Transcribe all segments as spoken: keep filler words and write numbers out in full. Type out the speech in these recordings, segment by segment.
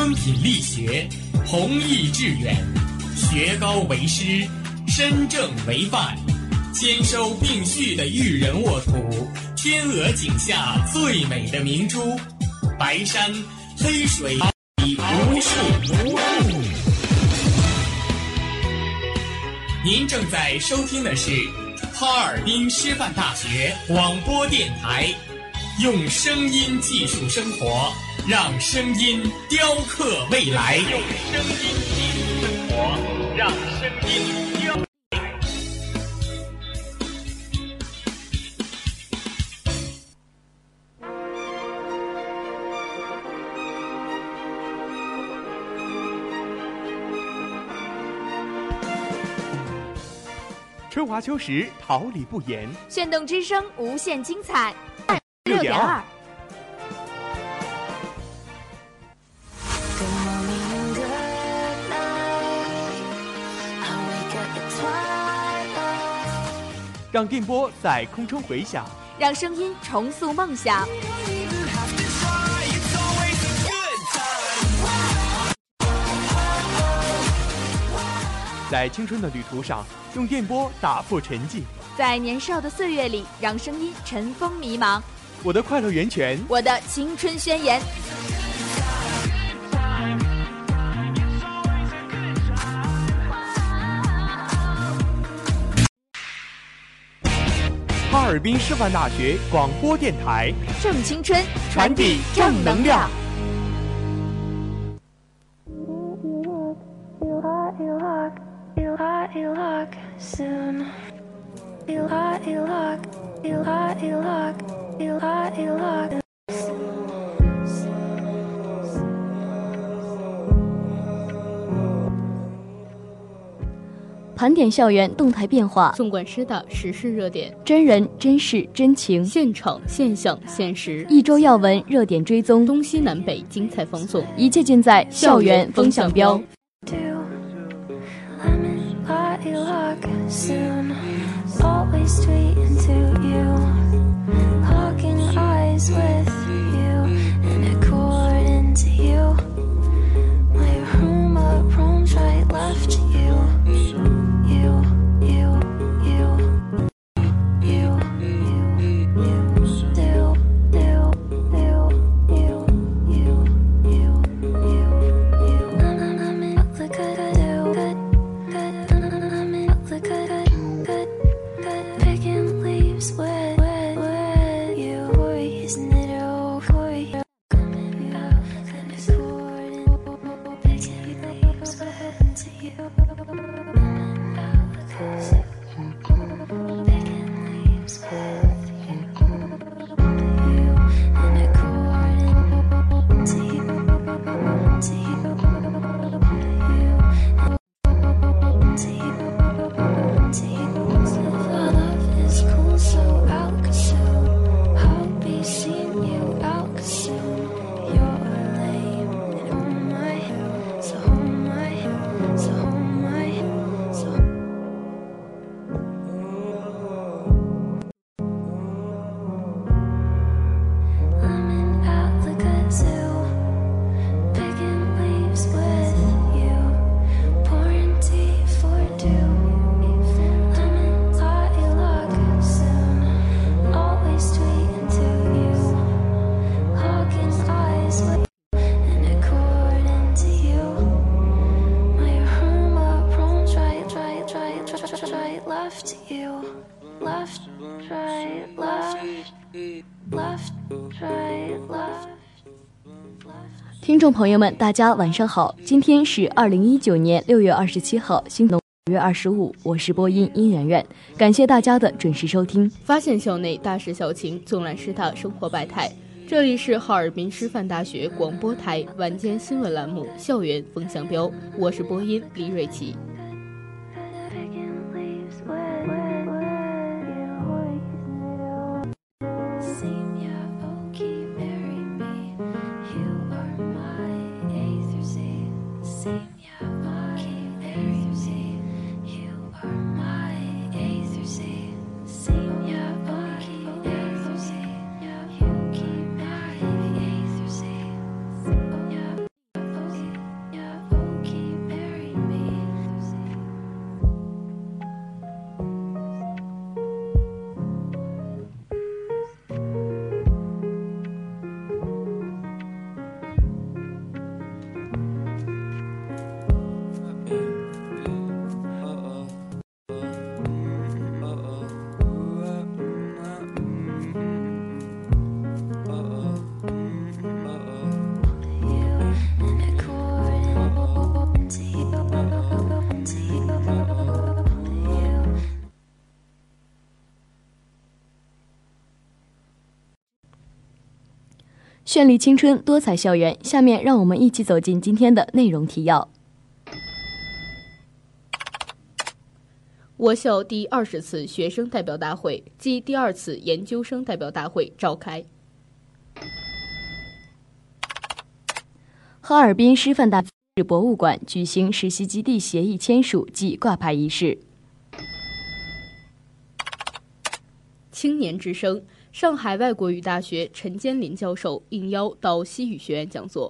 敦品力学，弘毅致远，学高为师，身正为范，兼收并蓄的育人沃土，天鹅颈下最美的明珠，白山黑水无数无数。您正在收听的是哈尔滨师范大学广播电台，用声音技术生活，让声音雕刻未来。用声音技术生活，让声音雕刻未来。 春华秋实，桃李不言。 炫动之声，无限精彩。 六点二。让电波在空中回响， 让声音重塑梦想。 在青春的旅途上，用电波打破沉寂； 在年少的岁月里，让声音尘封迷茫。 我的快乐源泉， 我的青春宣言。 哈尔滨师范大学广播电台， 正青春， 传递正能量。 盘点校园动态变化， 纵观师大时事热点， 真人真事真情， 现场现象现实， 一周要闻热点追踪， 东西南北精彩放送， 一切尽在校园风向标。听众朋友们，大家晚上好！今天是二零一九年六月二十七号，新农五月二十五，我是播音殷媛媛，感谢大家的准时收听。 发现校内大事小情，纵览师大生活百态。这里是哈尔滨师范大学广播台晚间新闻栏目《校园风向标》，我是播音李瑞琪。 绚丽青春，多彩校园。下面让我们一起走进今天的内容提要。 我校第二十次学生代表大会暨第二次研究生代表大会召开。 哈尔滨师范大学博物馆举行实习基地协议签署暨挂牌仪式。 青年之声，上海外国语大学陈坚林教授应邀到西语学院讲座。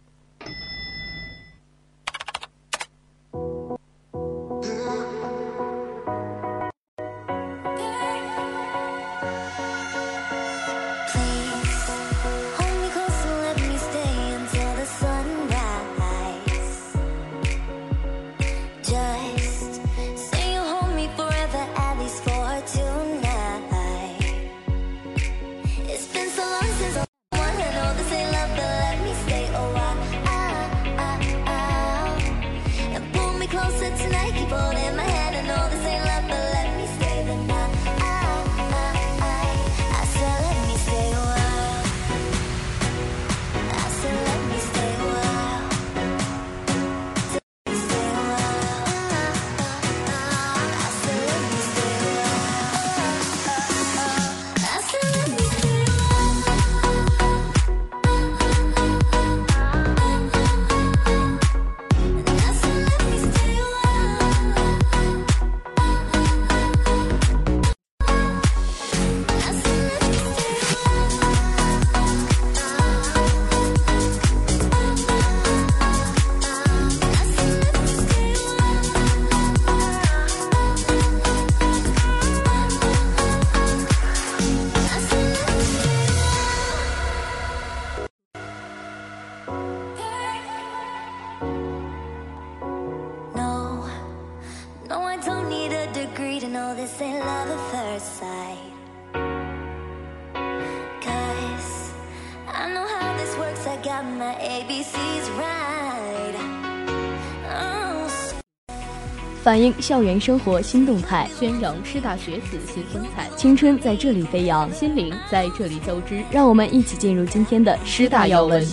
反映校园生活新动态， 宣扬师大学子新风采， 青春在这里飞扬， 心灵在这里交织。 让我们一起进入今天的师大要闻。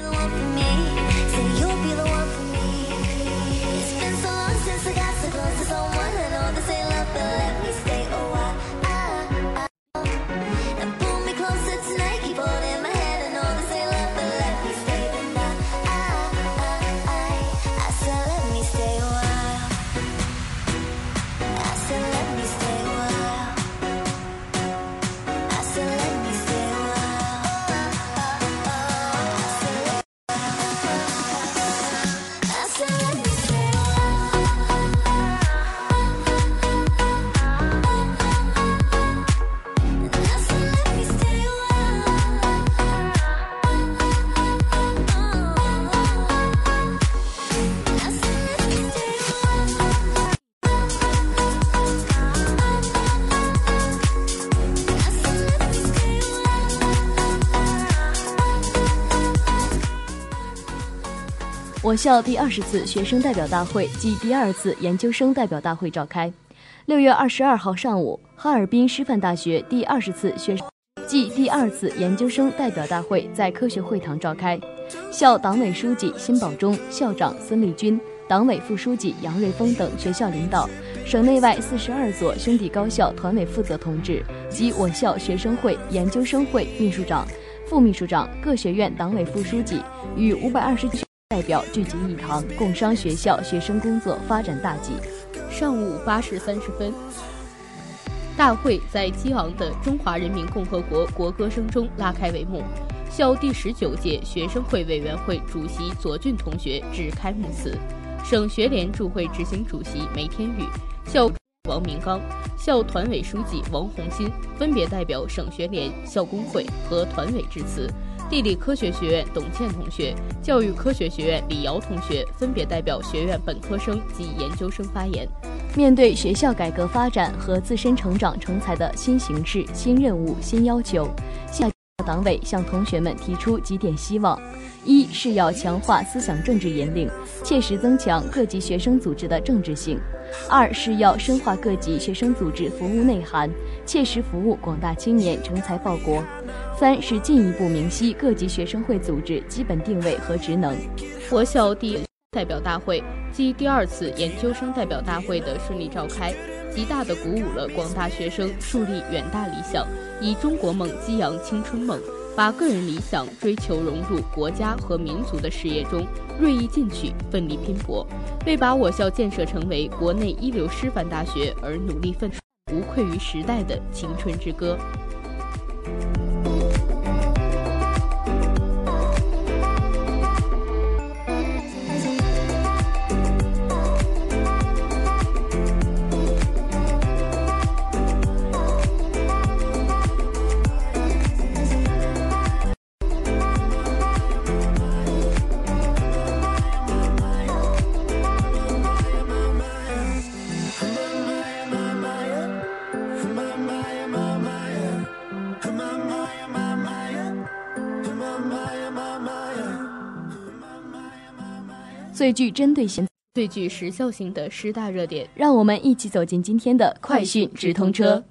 我校第二十次学生代表大会暨第二次研究生代表大会召开。六月二十二号上午，哈尔滨师范大学第二十次学生暨第二次研究生代表大会在科学会堂召开。校党委书记辛保忠、校长孙立军、党委副书记杨瑞峰等学校领导、省内外四十二所兄弟高校团委负责同志及我校学生会、研究生会秘书长、副秘书长、各学院党委副书记与五百二十代表聚集一堂，共商学校学生工作发展大计。 上午八时三十分，大会在激昂的中华人民共和国国歌声中拉开帷幕。校第十九届学生会委员会主席左俊同学致开幕词，省学联驻会执行主席梅天宇、校王明刚、校团委书记王红新分别代表省学联、校工会和团委致辞。地理科学学院董倩同学、教育科学学院李瑶同学分别代表学院本科生及研究生发言。 面对学校改革发展和自身成长成才的新形势、新任务、新要求，校党委向同学们提出几点希望：一是要强化思想政治引领，切实增强各级学生组织的政治性；二是要深化各级学生组织服务内涵，切实服务广大青年成才报国； 三是进一步明晰各级学生会组织基本定位和职能。 我校第代表大会暨第二次研究生代表大会的顺利召开，极大地鼓舞了广大学生树立远大理想，以中国梦激扬青春梦，把个人理想追求融入国家和民族的事业中，锐意进取，奋力拼搏，为把我校建设成为国内一流师范大学而努力奋斗，无愧于时代的青春之歌。 最具针对性、 最具时效性的十大热点， 让我们一起走进今天的快讯直通车。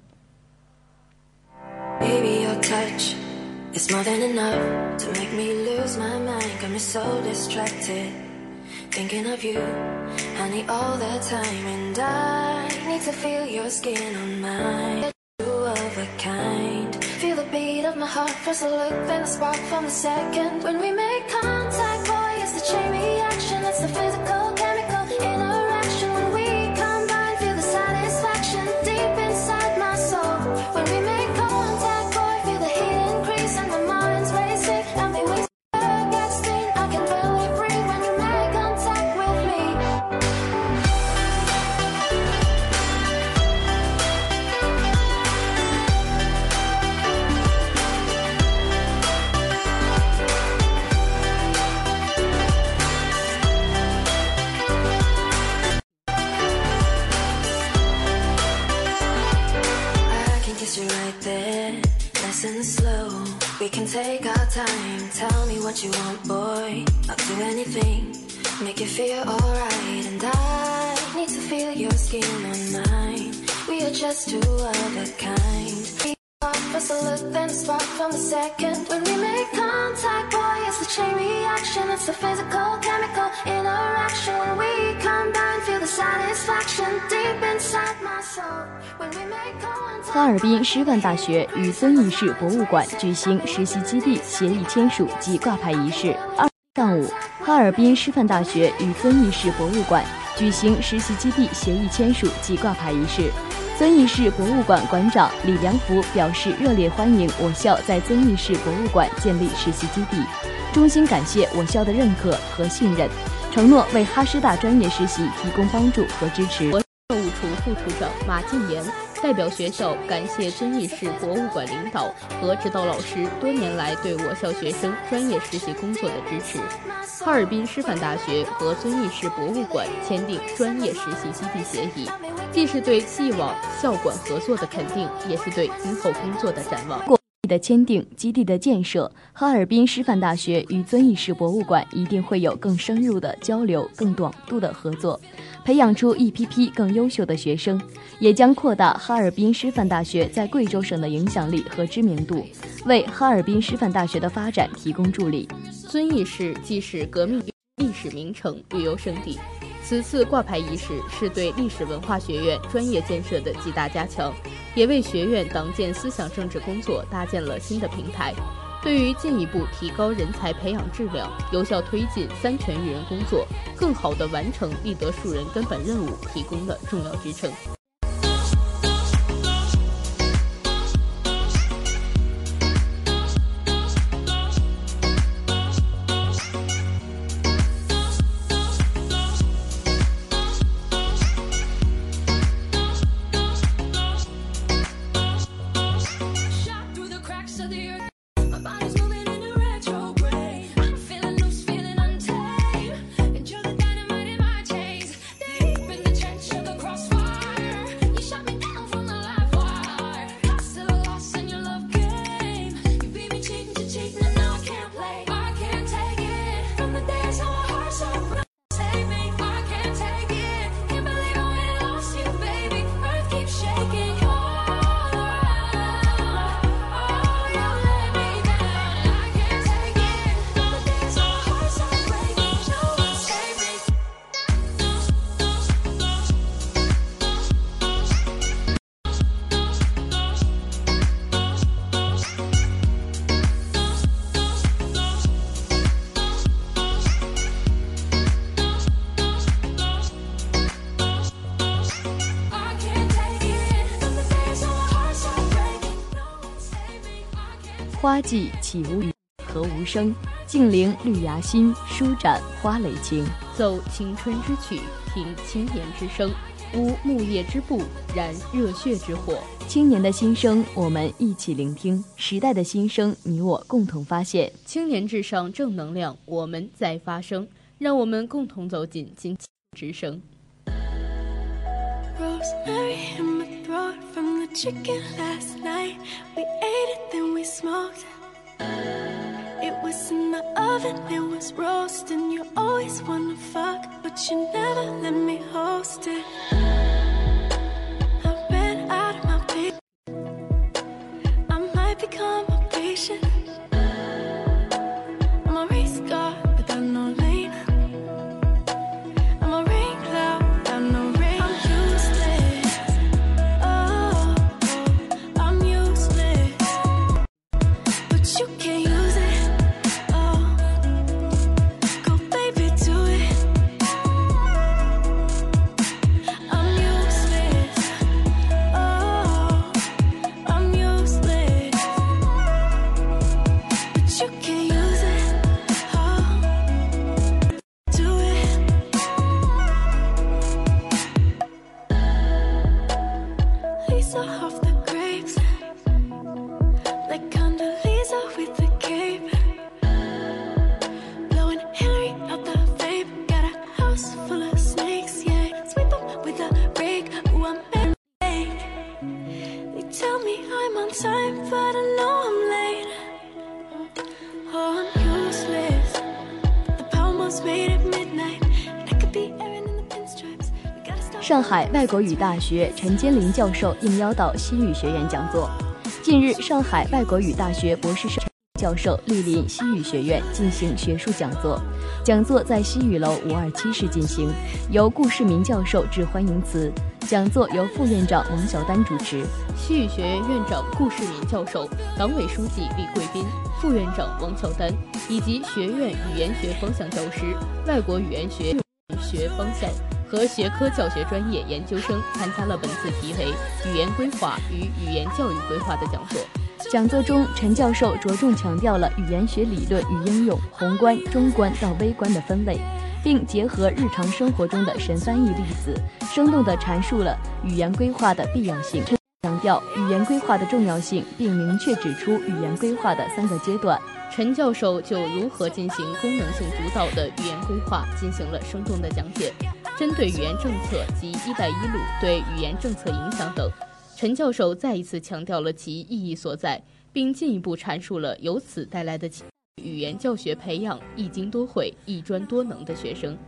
Baby, your touch is more than enough to make me lose my mind. Got me so distracted, thinking of you. I need all the time, and I need to feel your skin on mine. Two of a kind. Feel the beat of my heart, first a look, then a spark from the second. When we make contact, boy, it's the chain reaction. It's the physical, chemical interaction. When we combine, feel the satisfaction deep inside my soul. When we make contact, boy, feel the heat increase and my mind's racing. And me we get steam, I can barely breathe when you make contact with me. You right there, nice and slow. We can take our time. Tell me what you want, boy. I'll do anything, make you feel alright. And I need to feel your skin on mine. We are just two of a kind. First a look, then a spark from the second. When we make contact, boy, it's the chain reaction. It's the physical, chemical interaction. When we combine, feel the satisfaction deep inside my soul. When we make contact. 哈尔滨师范大学与遵义市博物馆举行实习基地协议签署及挂牌仪式。二上午，哈尔滨师范大学与遵义市博物馆举行实习基地协议签署及挂牌仪式。遵义市博物馆馆长李良福表示，热烈欢迎我校在遵义市博物馆建立实习基地，衷心感谢我校的认可和信任，承诺为哈师大专业实习提供帮助和支持。 教务处副处长马进言代表学校感谢遵义市博物馆领导和指导老师多年来对我校学生专业实习工作的支持。哈尔滨师范大学和遵义市博物馆签订专业实习基地协议，既是对既往校馆合作的肯定，也是对今后工作的展望。 的签订，基地的建设，哈尔滨师范大学与遵义市博物馆一定会有更深入的交流、更广度的合作，培养出一批批更优秀的学生，也将扩大哈尔滨师范大学在贵州省的影响力和知名度，为哈尔滨师范大学的发展提供助力。 遵义市既是革命历史名城、旅游胜地，此次挂牌仪式是对历史文化学院专业建设的极大加强，也为学院党建思想政治工作搭建了新的平台，对于进一步提高人才培养质量，有效推进三权育人工作，更好地完成立德树人根本任务提供了重要支撑。 花季岂无语，何无声？静聆绿芽心，舒展花蕾情。 奏青春之曲，听青年之声。无木叶之步，燃热血之火。 青年的心声，我们一起聆听；时代的心声，你我共同发现。 青年至上，正能量，我们在发声。让我们共同走进金之声。 Rosemary in my throat from the chicken last night. We ate it, then we smoked. It was in the oven, it was roasting. You always wanna fuck, but you never let me host it. I ran out of my patience. I might become a patient. I'm a race car without no lane. I'm a rain cloud without no rain. I'm useless. Oh, I'm useless. But you can't use it. Oh, go baby, do it. I'm useless. Oh, I'm useless. But you can't use it. Oh, do it. Lisa off the grapes, like Condoleezza with the cape, blowing Hillary out the vape. Got a house full of snakes, yeah. Sweep them with a rake. Ooh, I'm fake. They tell me I'm on time, but I know I'm late. Oh, I'm useless. The power must made at midnight, and I could be Erin in the pinstripes. We gotta stop. 上海外国语大学陈坚林教授应邀到西语学院讲座。近日，上海外国语大学博士生教授莅临西语学院进行学术讲座。讲座在西语楼五二七室进行，由顾世民教授致欢迎词。讲座由副院长王晓丹主持。 西语学院院长顾世民教授、党委书记李贵斌、副院长王晓丹以及学院语言学方向教师、外国语言学学方向和学科教学专业研究生参加了本次题为“语言规划与语言教育规划”的讲座。 讲座中，陈教授着重强调了语言学理论与应用宏观、中观到微观的分类，并结合日常生活中的神翻译例子，生动地阐述了语言规划的必要性，强调语言规划的重要性，并明确指出语言规划的三个阶段。 陈教授就如何进行功能性主导的语言规划进行了生动的讲解。针对语言政策及“一带一路”对语言政策影响等，陈教授再一次强调了其意义所在，并进一步阐述了由此带来的语言教学培养一经多会、一专多能的学生。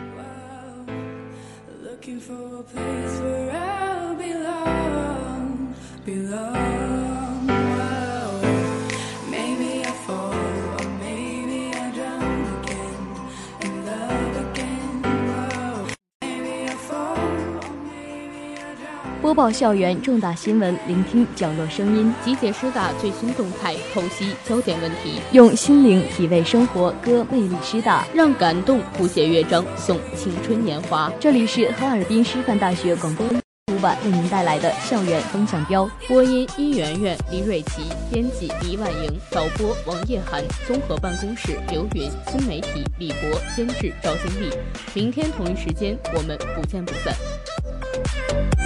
Looking for a place where I'll belong, belong. Wow. Maybe I fall, or maybe I drown again, in love again. Wow. Maybe I fall, or maybe I drown. 播报校园重大新闻，聆听角落声音， 集结师大最新动态，剖析焦点问题， 用心灵体味生活，歌魅力师大， 让感动谱写乐章，颂青春年华。 这里是哈尔滨师范大学广播出版为您带来的校园风向标。 播音殷媛媛、李蕊琪，编辑黎万莹，导播王叶涵，综合办公室刘云，新媒体李博，监制赵经理。明天同一时间，我们不见不散。